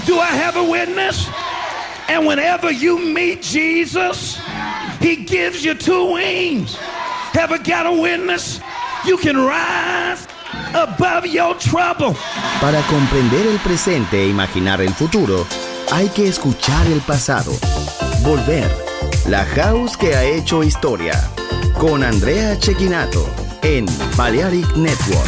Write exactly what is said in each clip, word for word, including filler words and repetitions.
Do I have a witness? And whenever you meet Jesus, he gives you two wings. Ever got a witness? You can rise above your trouble. Para comprender el presente e imaginar el futuro, hay que escuchar el pasado. Volver. La House que ha hecho historia. Con Andrea Cecchinato en Balearic Network.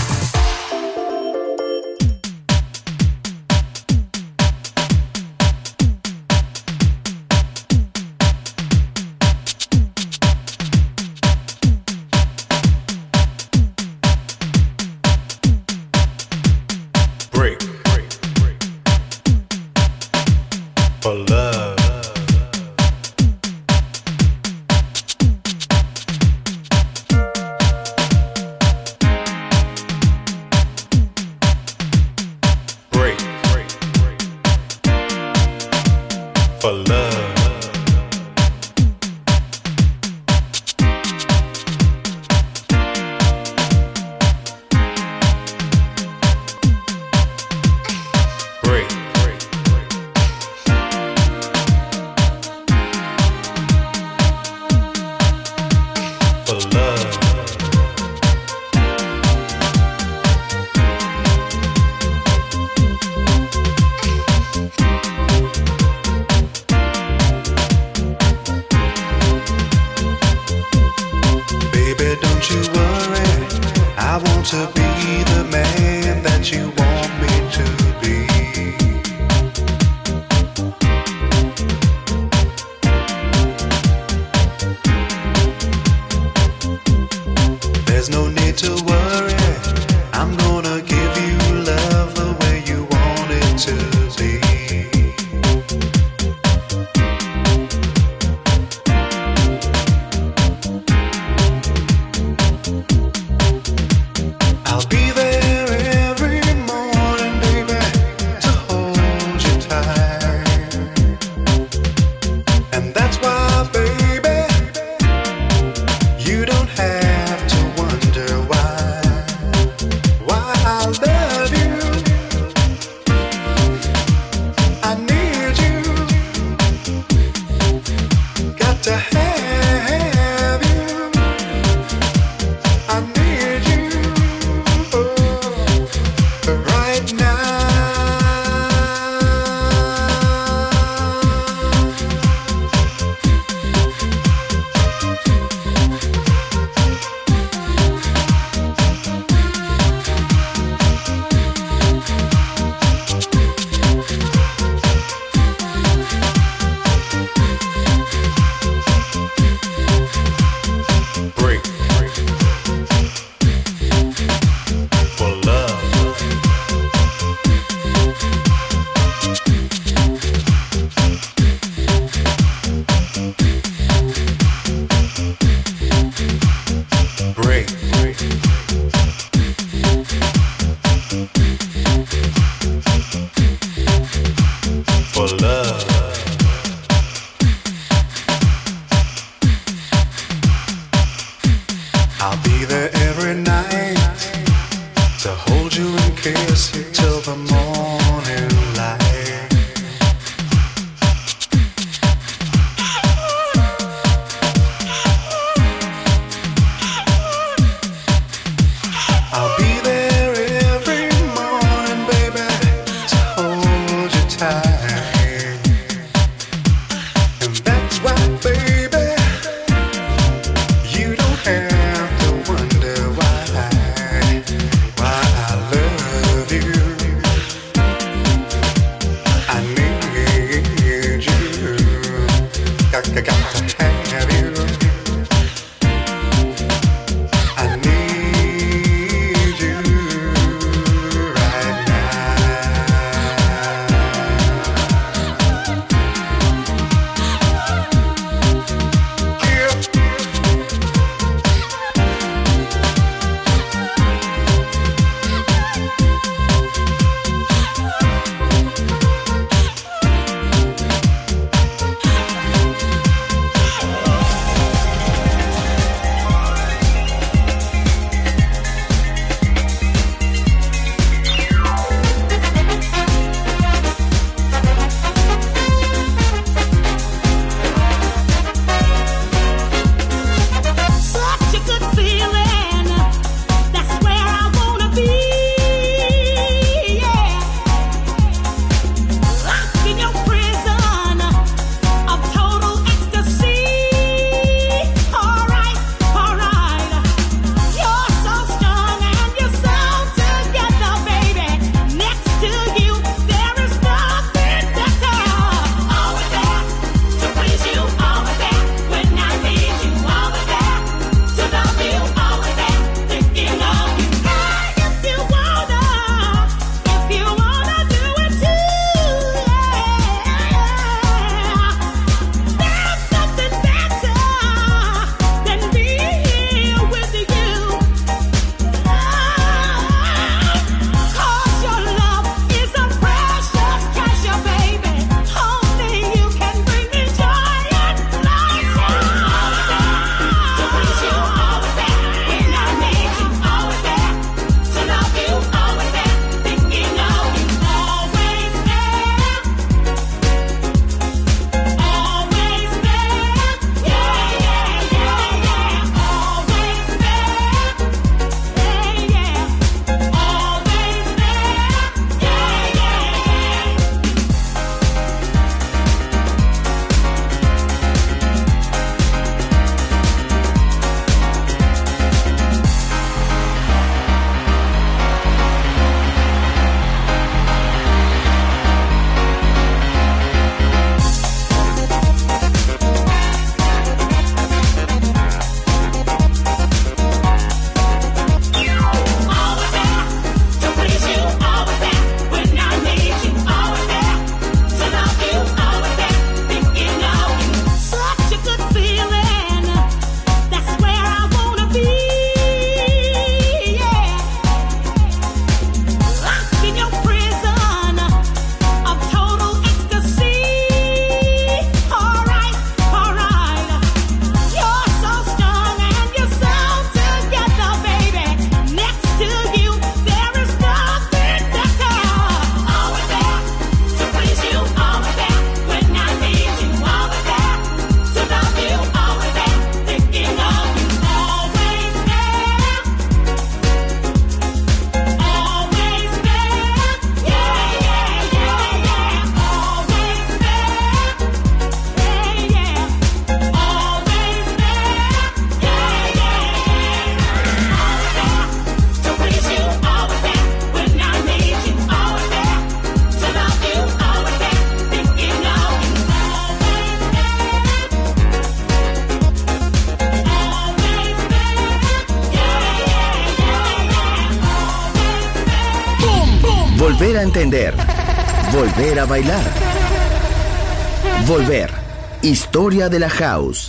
a entender, volver a bailar. Volver. Historia de la house.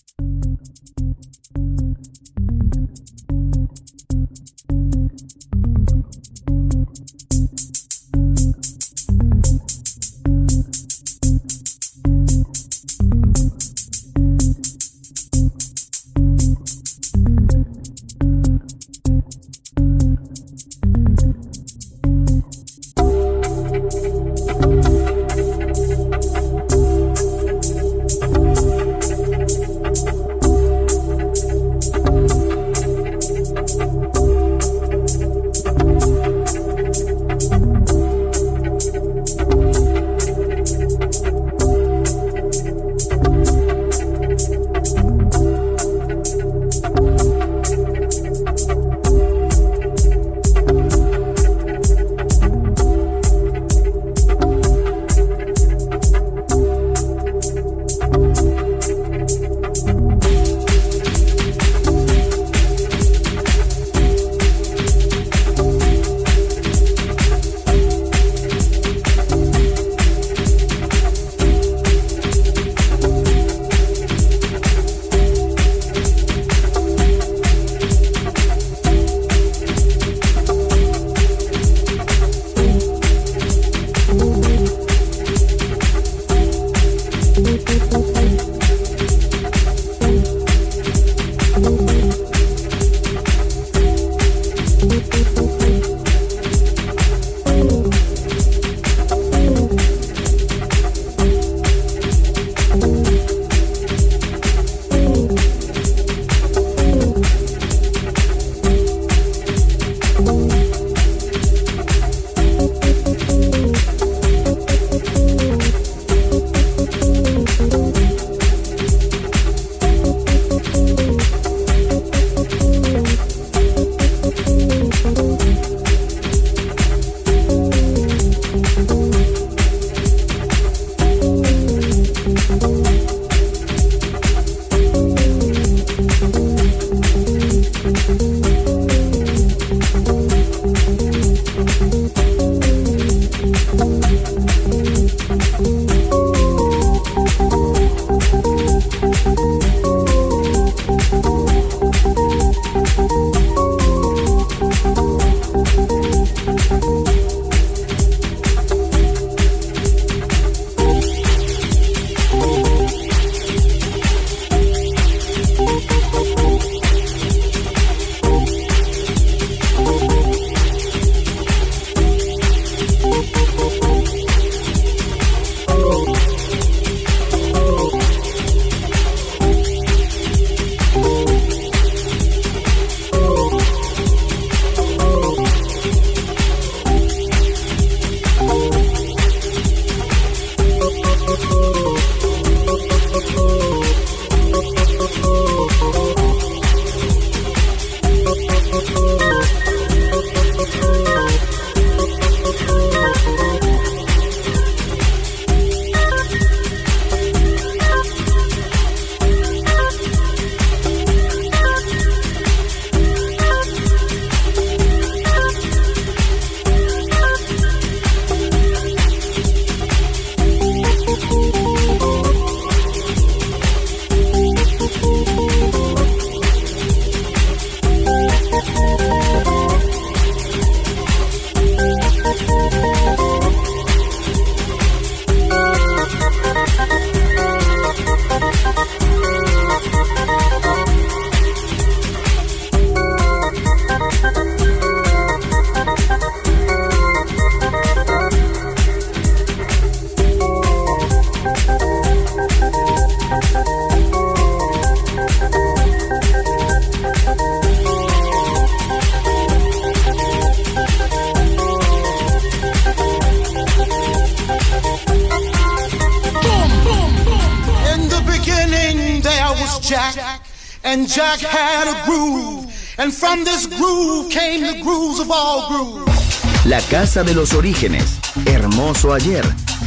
Jack, and Jack had a groove, and from this groove came the grooves of all grooves. La casa de los orígenes, hermoso ayer,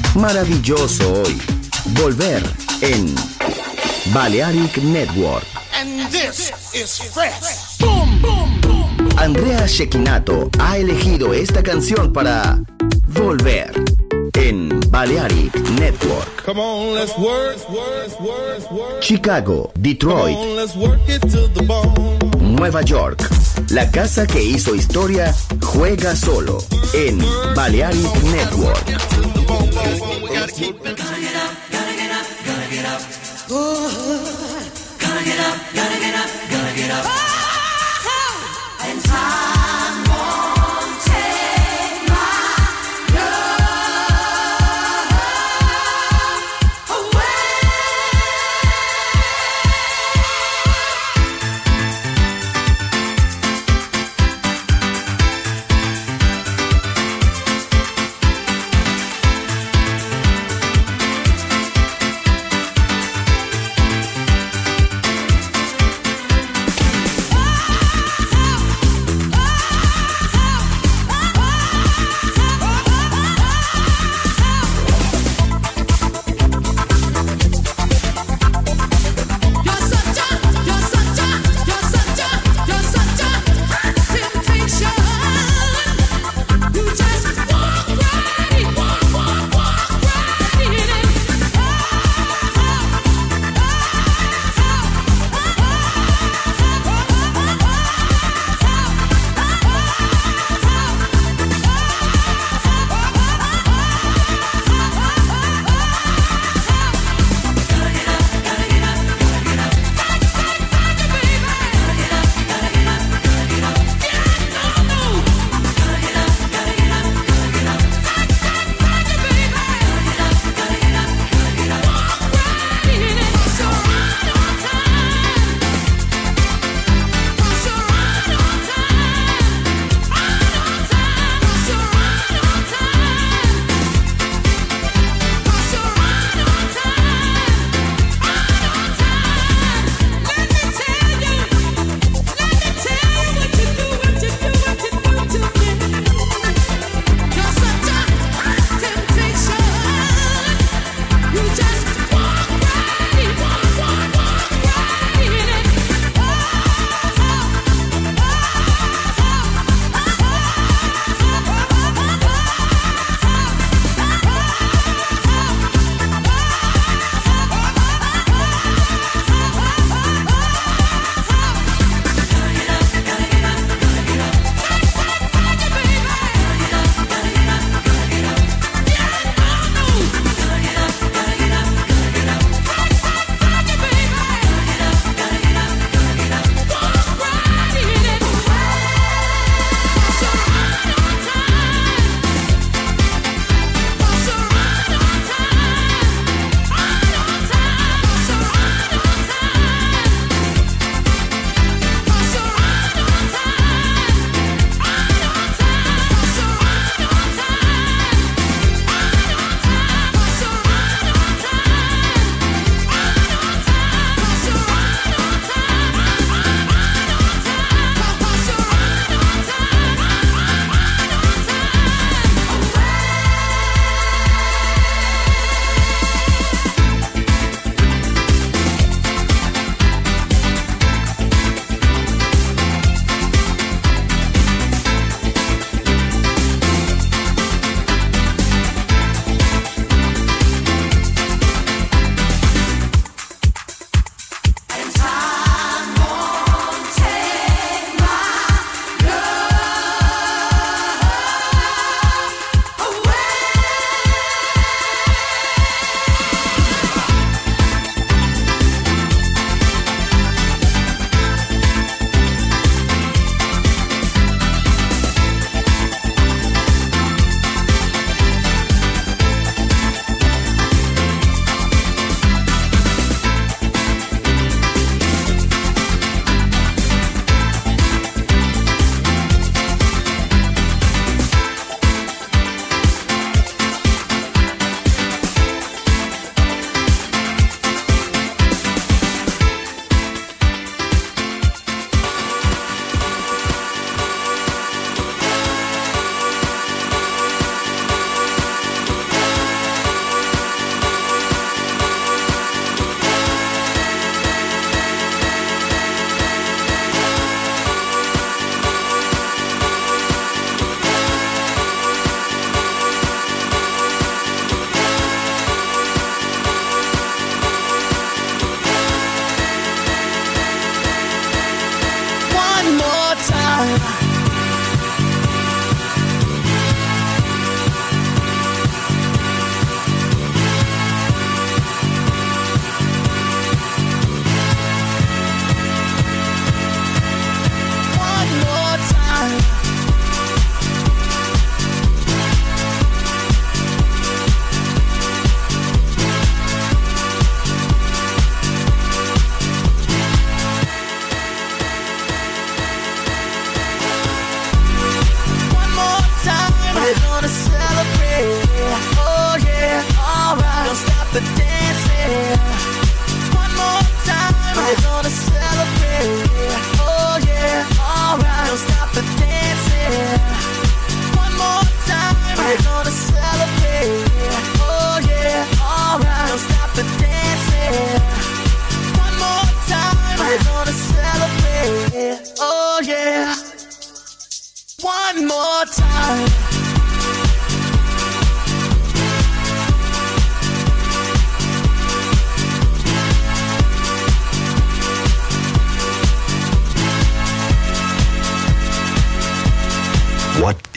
maravilloso hoy. Volver en Balearic Network. And this is fresh. Boom, boom, boom. Andrea Cecchinato ha elegido esta canción para Volver en Balearic Network. Come on, let's work. Chicago, Detroit, Come on, let's work it to the bone. Nueva York. La casa que hizo historia juega solo en Balearic Network.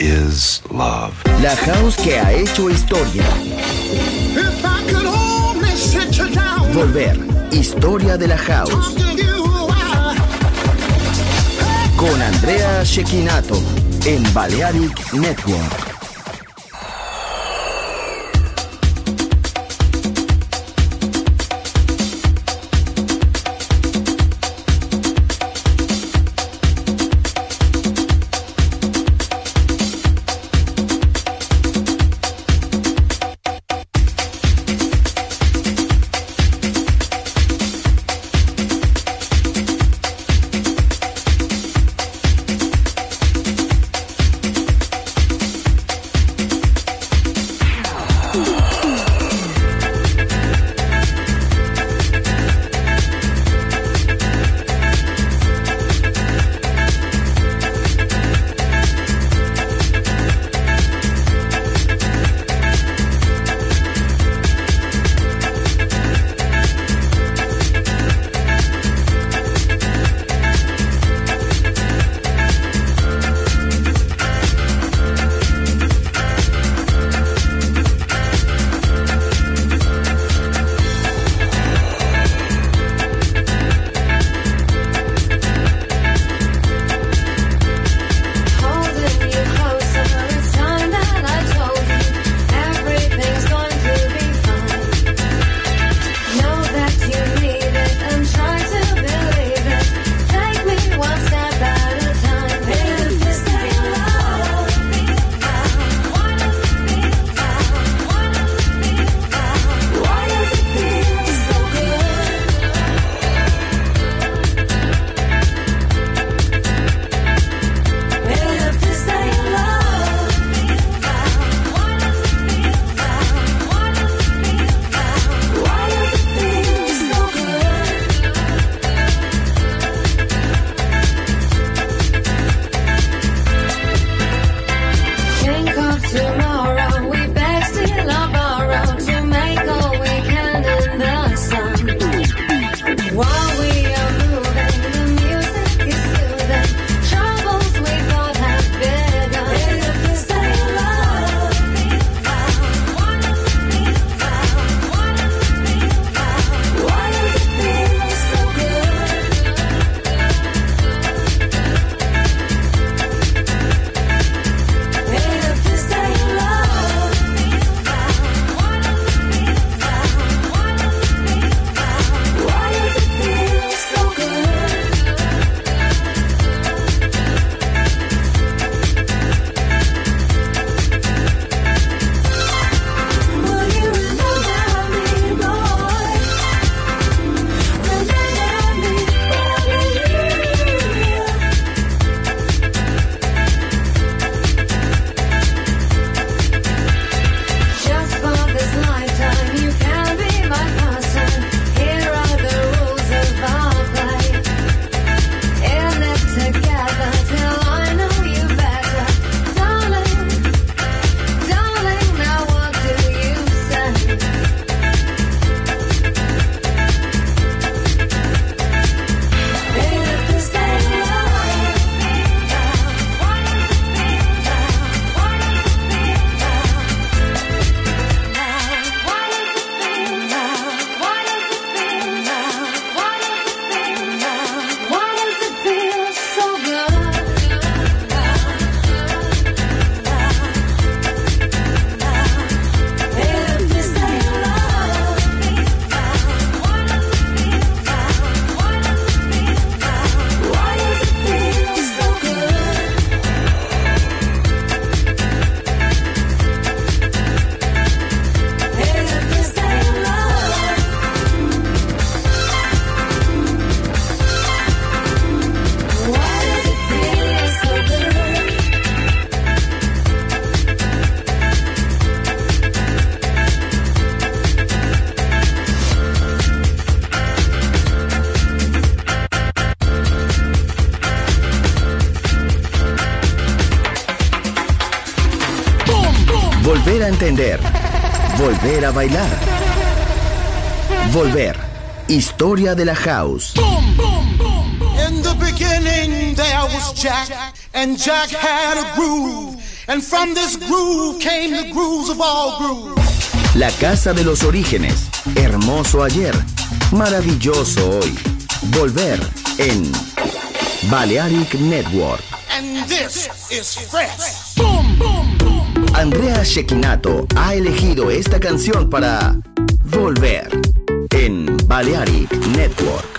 is love. La house que ha hecho historia. If I could only sit you down. Volver. Historia de la house. Con Andrea Cecchinato en Balearic Network. Volver a entender. Volver a bailar. Volver. Historia de la house. In the beginning there was Jack, and Jack had a groove, And from this groove came the grooves of all grooves. La casa de los orígenes, hermoso ayer, maravilloso hoy. Volver en Balearic Network. And this is fresh. Boom, boom, boom. Andrea Cecchinato ha elegido esta canción para Volver en Balearic Network.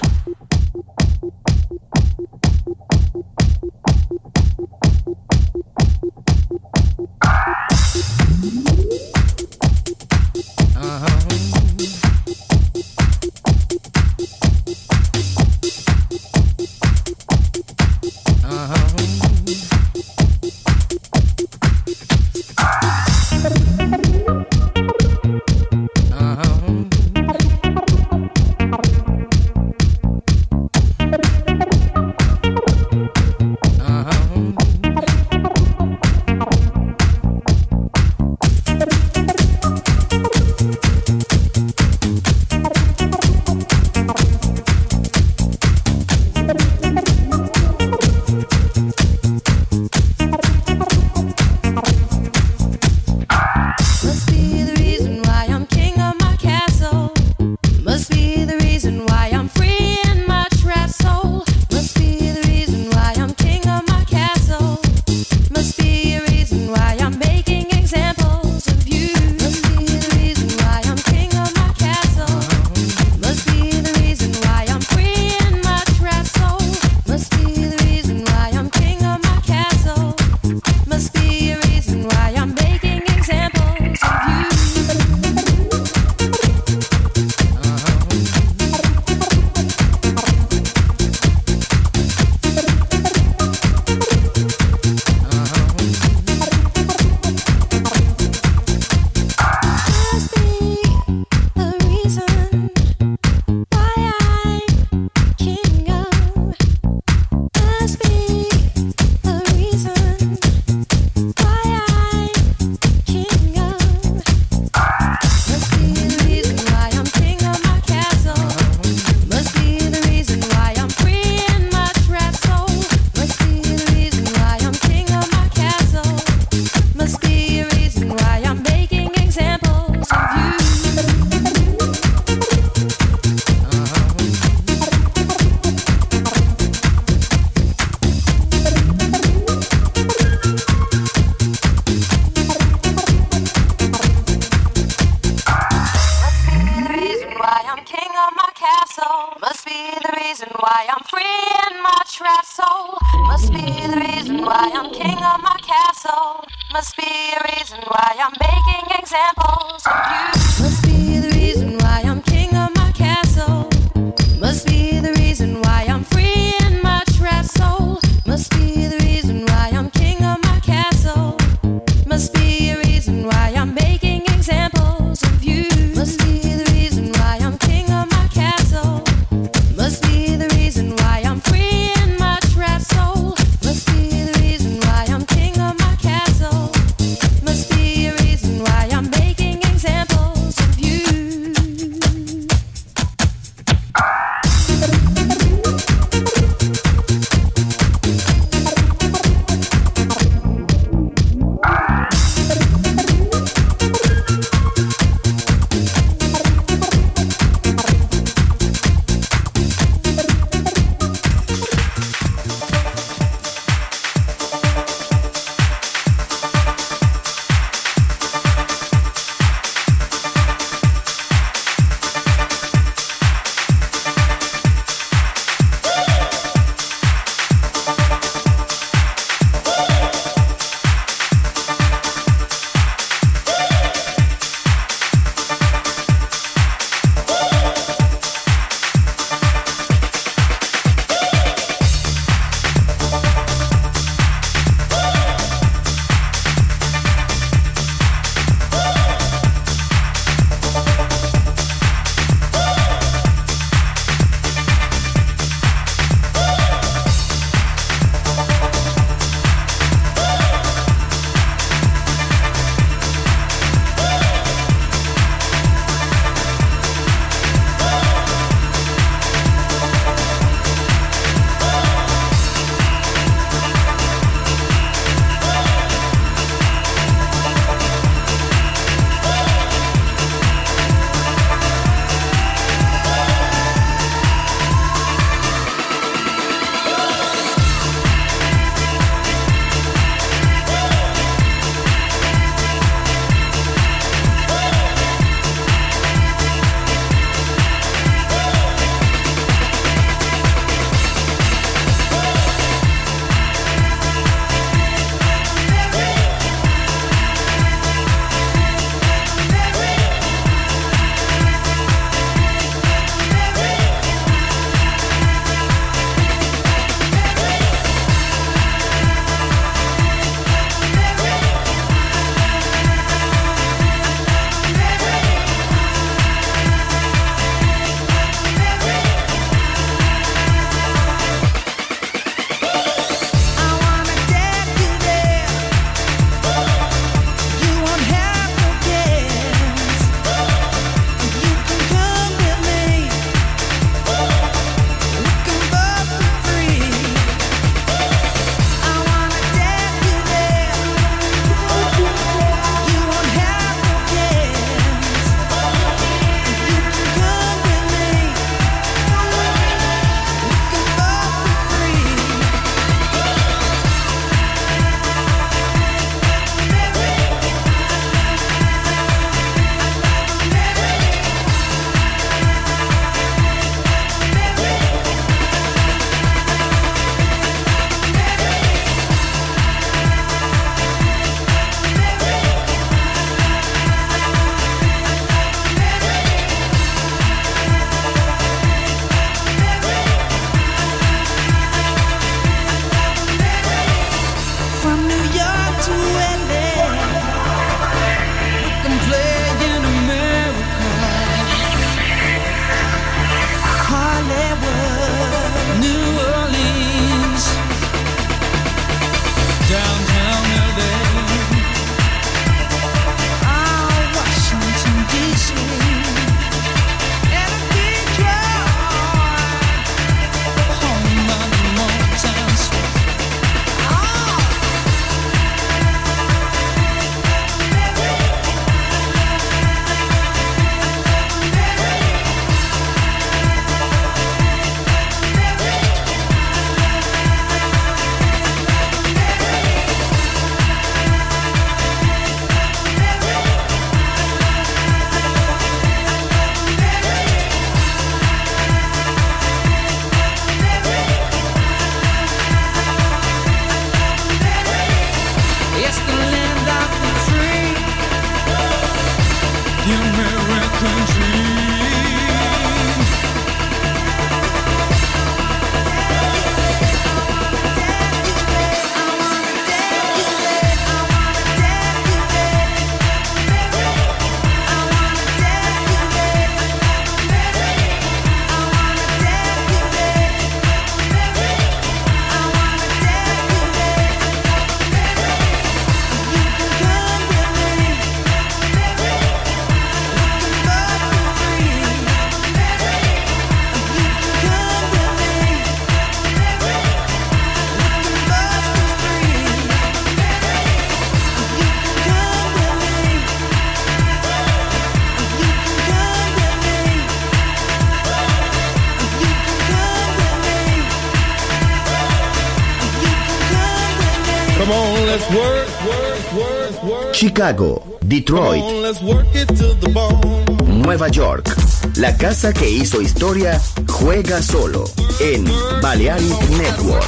let's work, work, work, work. Chicago, Detroit, Come on, let's work it to the bone. Nueva York. La casa que hizo historia juega solo en Balearic Network.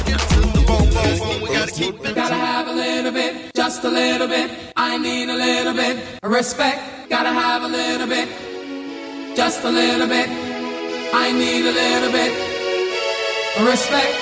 Gotta have a little bit, just a little bit. I need a little bit of respect. Gotta have a little bit, just a little bit. I need a little bit of respect.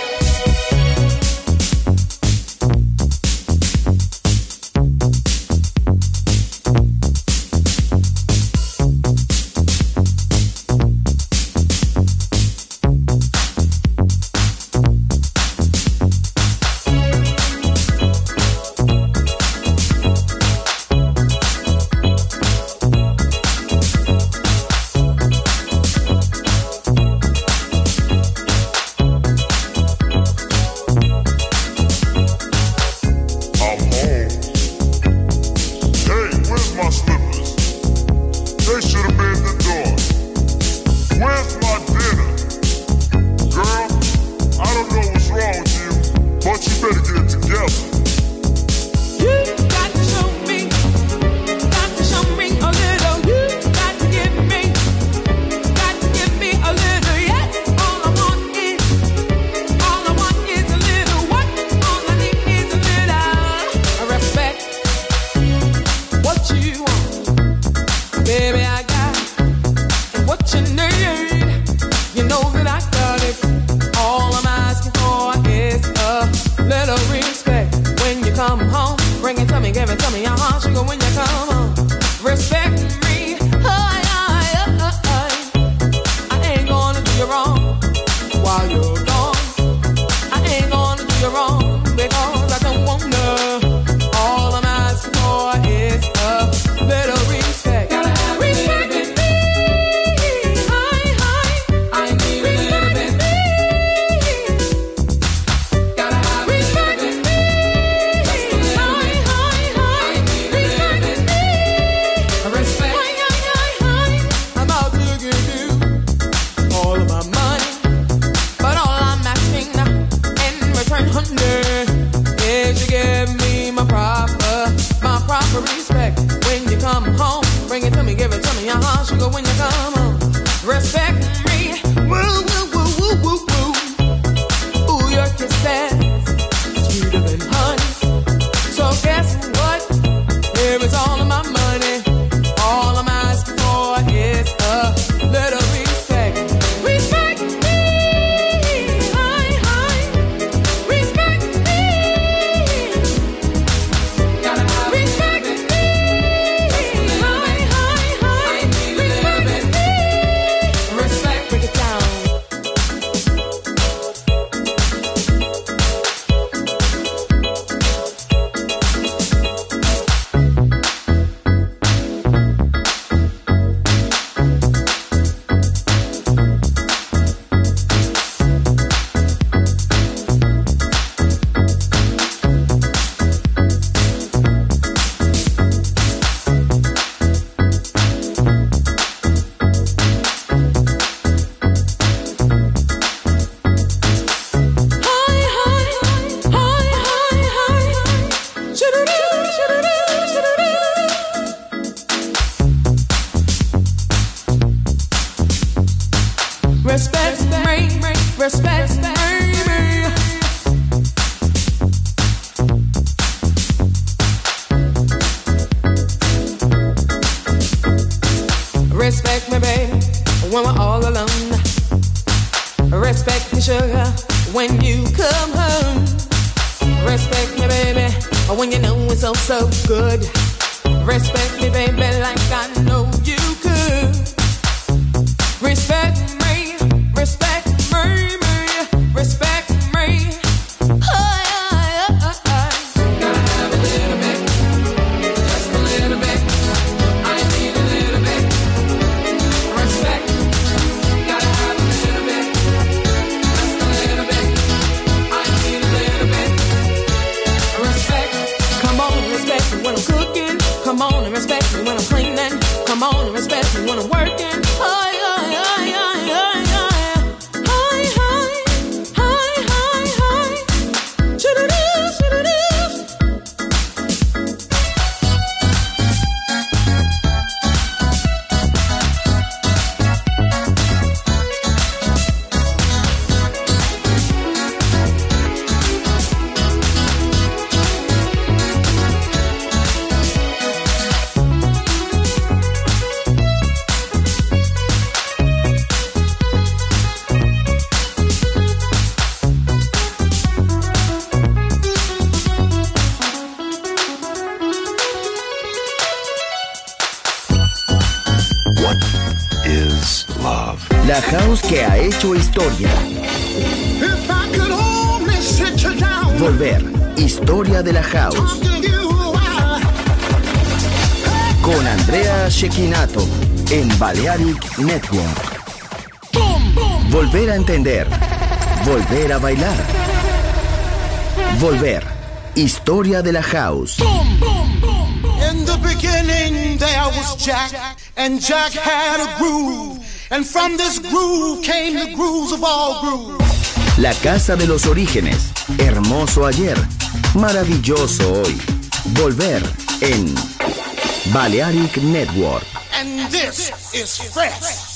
Come on and respect me when I'm cleaning. Come on and respect me when I'm working. Oh, yeah, yeah, yeah, yeah. La house que ha hecho historia. If I could only sit you down, Volver, historia de la house. talk to you a while. Con Andrea Cecchinato en Balearic Network. Boom, boom. Volver a entender. Volver a bailar. Volver, historia de la house. Boom, boom, boom, boom. In the beginning there was Jack, and Jack had a groove, and from this groove came the grooves of all grooves. La casa de los orígenes. Hermoso ayer. Maravilloso hoy. Volver en Balearic Network. And this is fresh.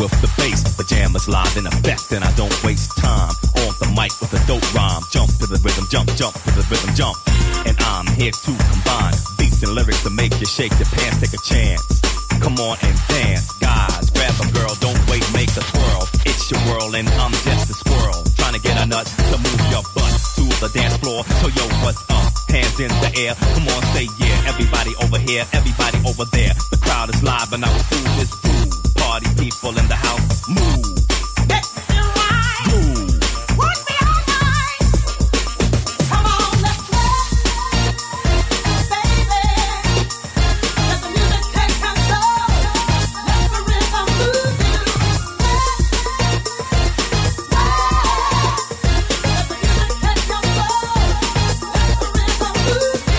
with the bass. The jam is live in effect and I don't waste time. On the mic with a dope rhyme. Jump to the rhythm, jump, jump to the rhythm, jump. And I'm here to combine beats and lyrics to make you shake your pants, take a chance. Come on and dance, guys. Grab a girl, don't wait, make a twirl. It's your world and I'm just a squirrel. Trying to get a nut to move your butt to the dance floor. So yo, what's up? Hands in the air. Come on, say yeah. Everybody over here, everybody over there. The crowd is live and I will do this groove. Party people in the house, move. Let's do right. Move. Would be all right. Come on, let's rock, baby. Let the music take control. Let the rhythm move you. Let the music take control. Let the rhythm move you.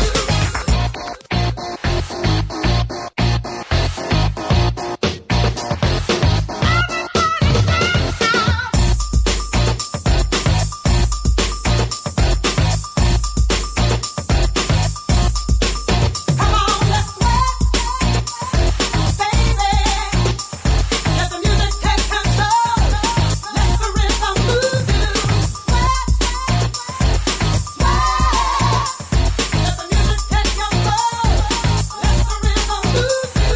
Come on, let's rock, baby. Let the music take control. Let the rhythm move you. Sweat, sweat. Let the music take control. Let the rhythm move you.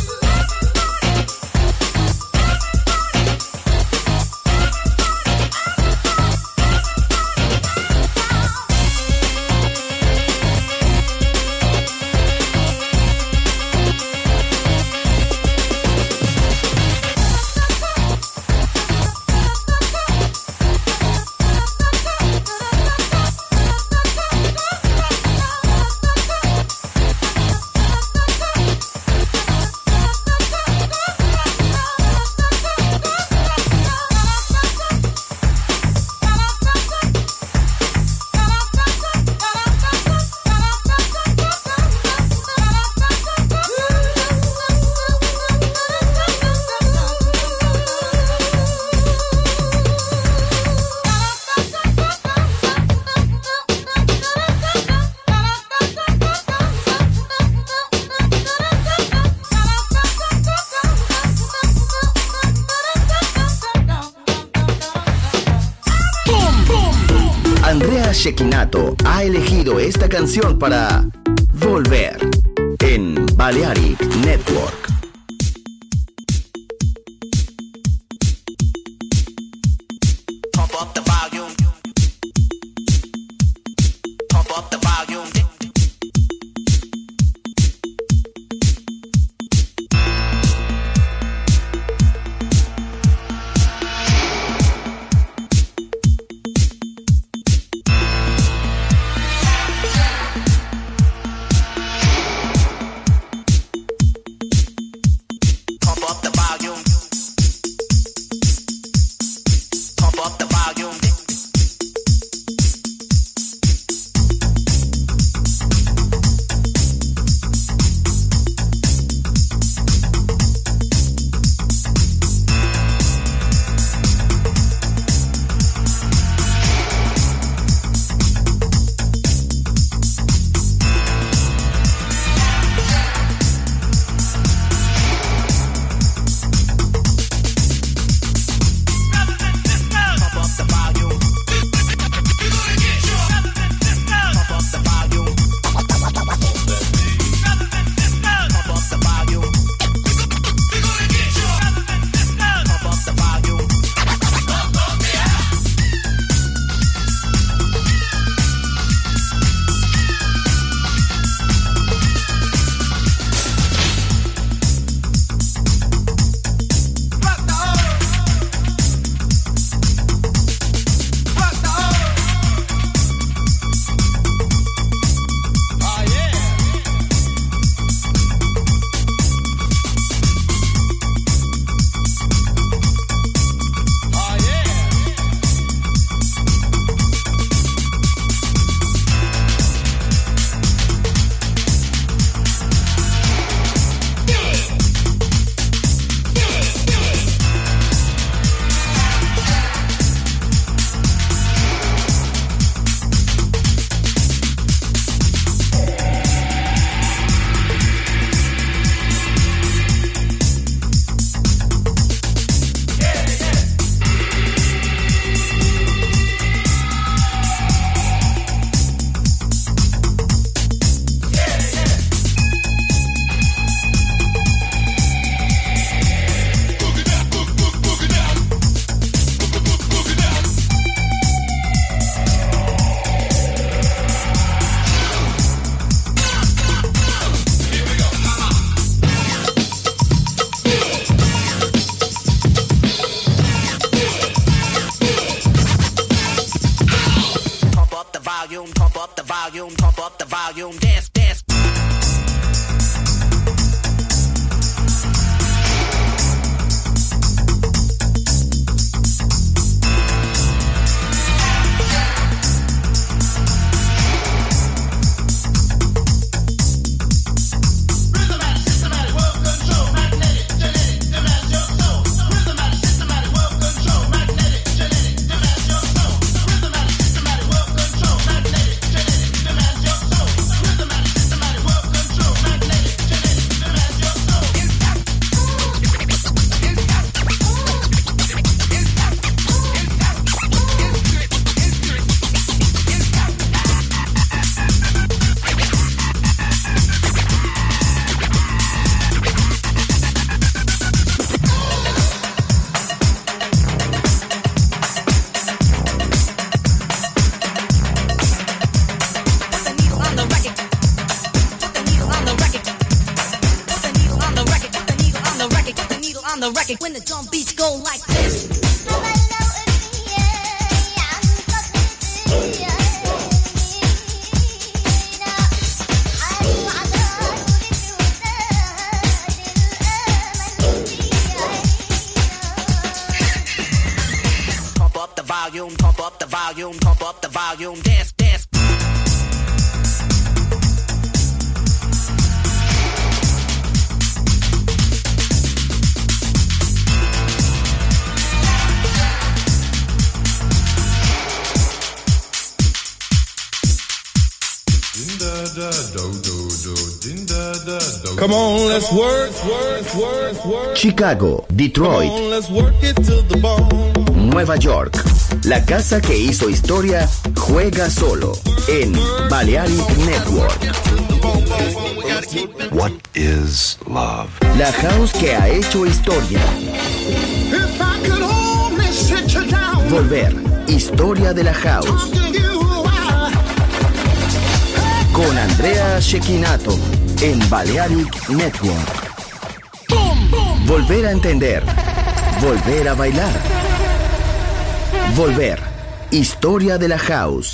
Andrea Cecchinato ha elegido esta canción para Volver en Balearic Network. Pump up the volume. Pump up the volume. volume, pump up the volume, dance, dance. When the drum beats go like this. Pump up the volume, pump up the volume, pump up the volume, dance, dance. Come on, let's work, work, work, work. Chicago, Detroit, Come on, let's work it to the bone. Nueva York. La casa que hizo historia juega solo en Balearic Network. What is love? La house que ha hecho historia. If I could only sit you down, Volver. Historia de la house. talk to you while Con Andrea Cecchinato en Balearic Network. Volver a entender. Volver a bailar. Volver. Historia de la house.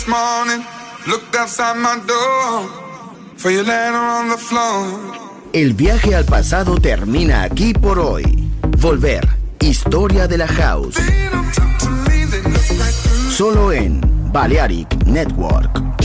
morning, looked outside my door for your letter on the floor. El viaje al pasado termina aquí por hoy. Volver, historia de la house. Solo en Balearic Network.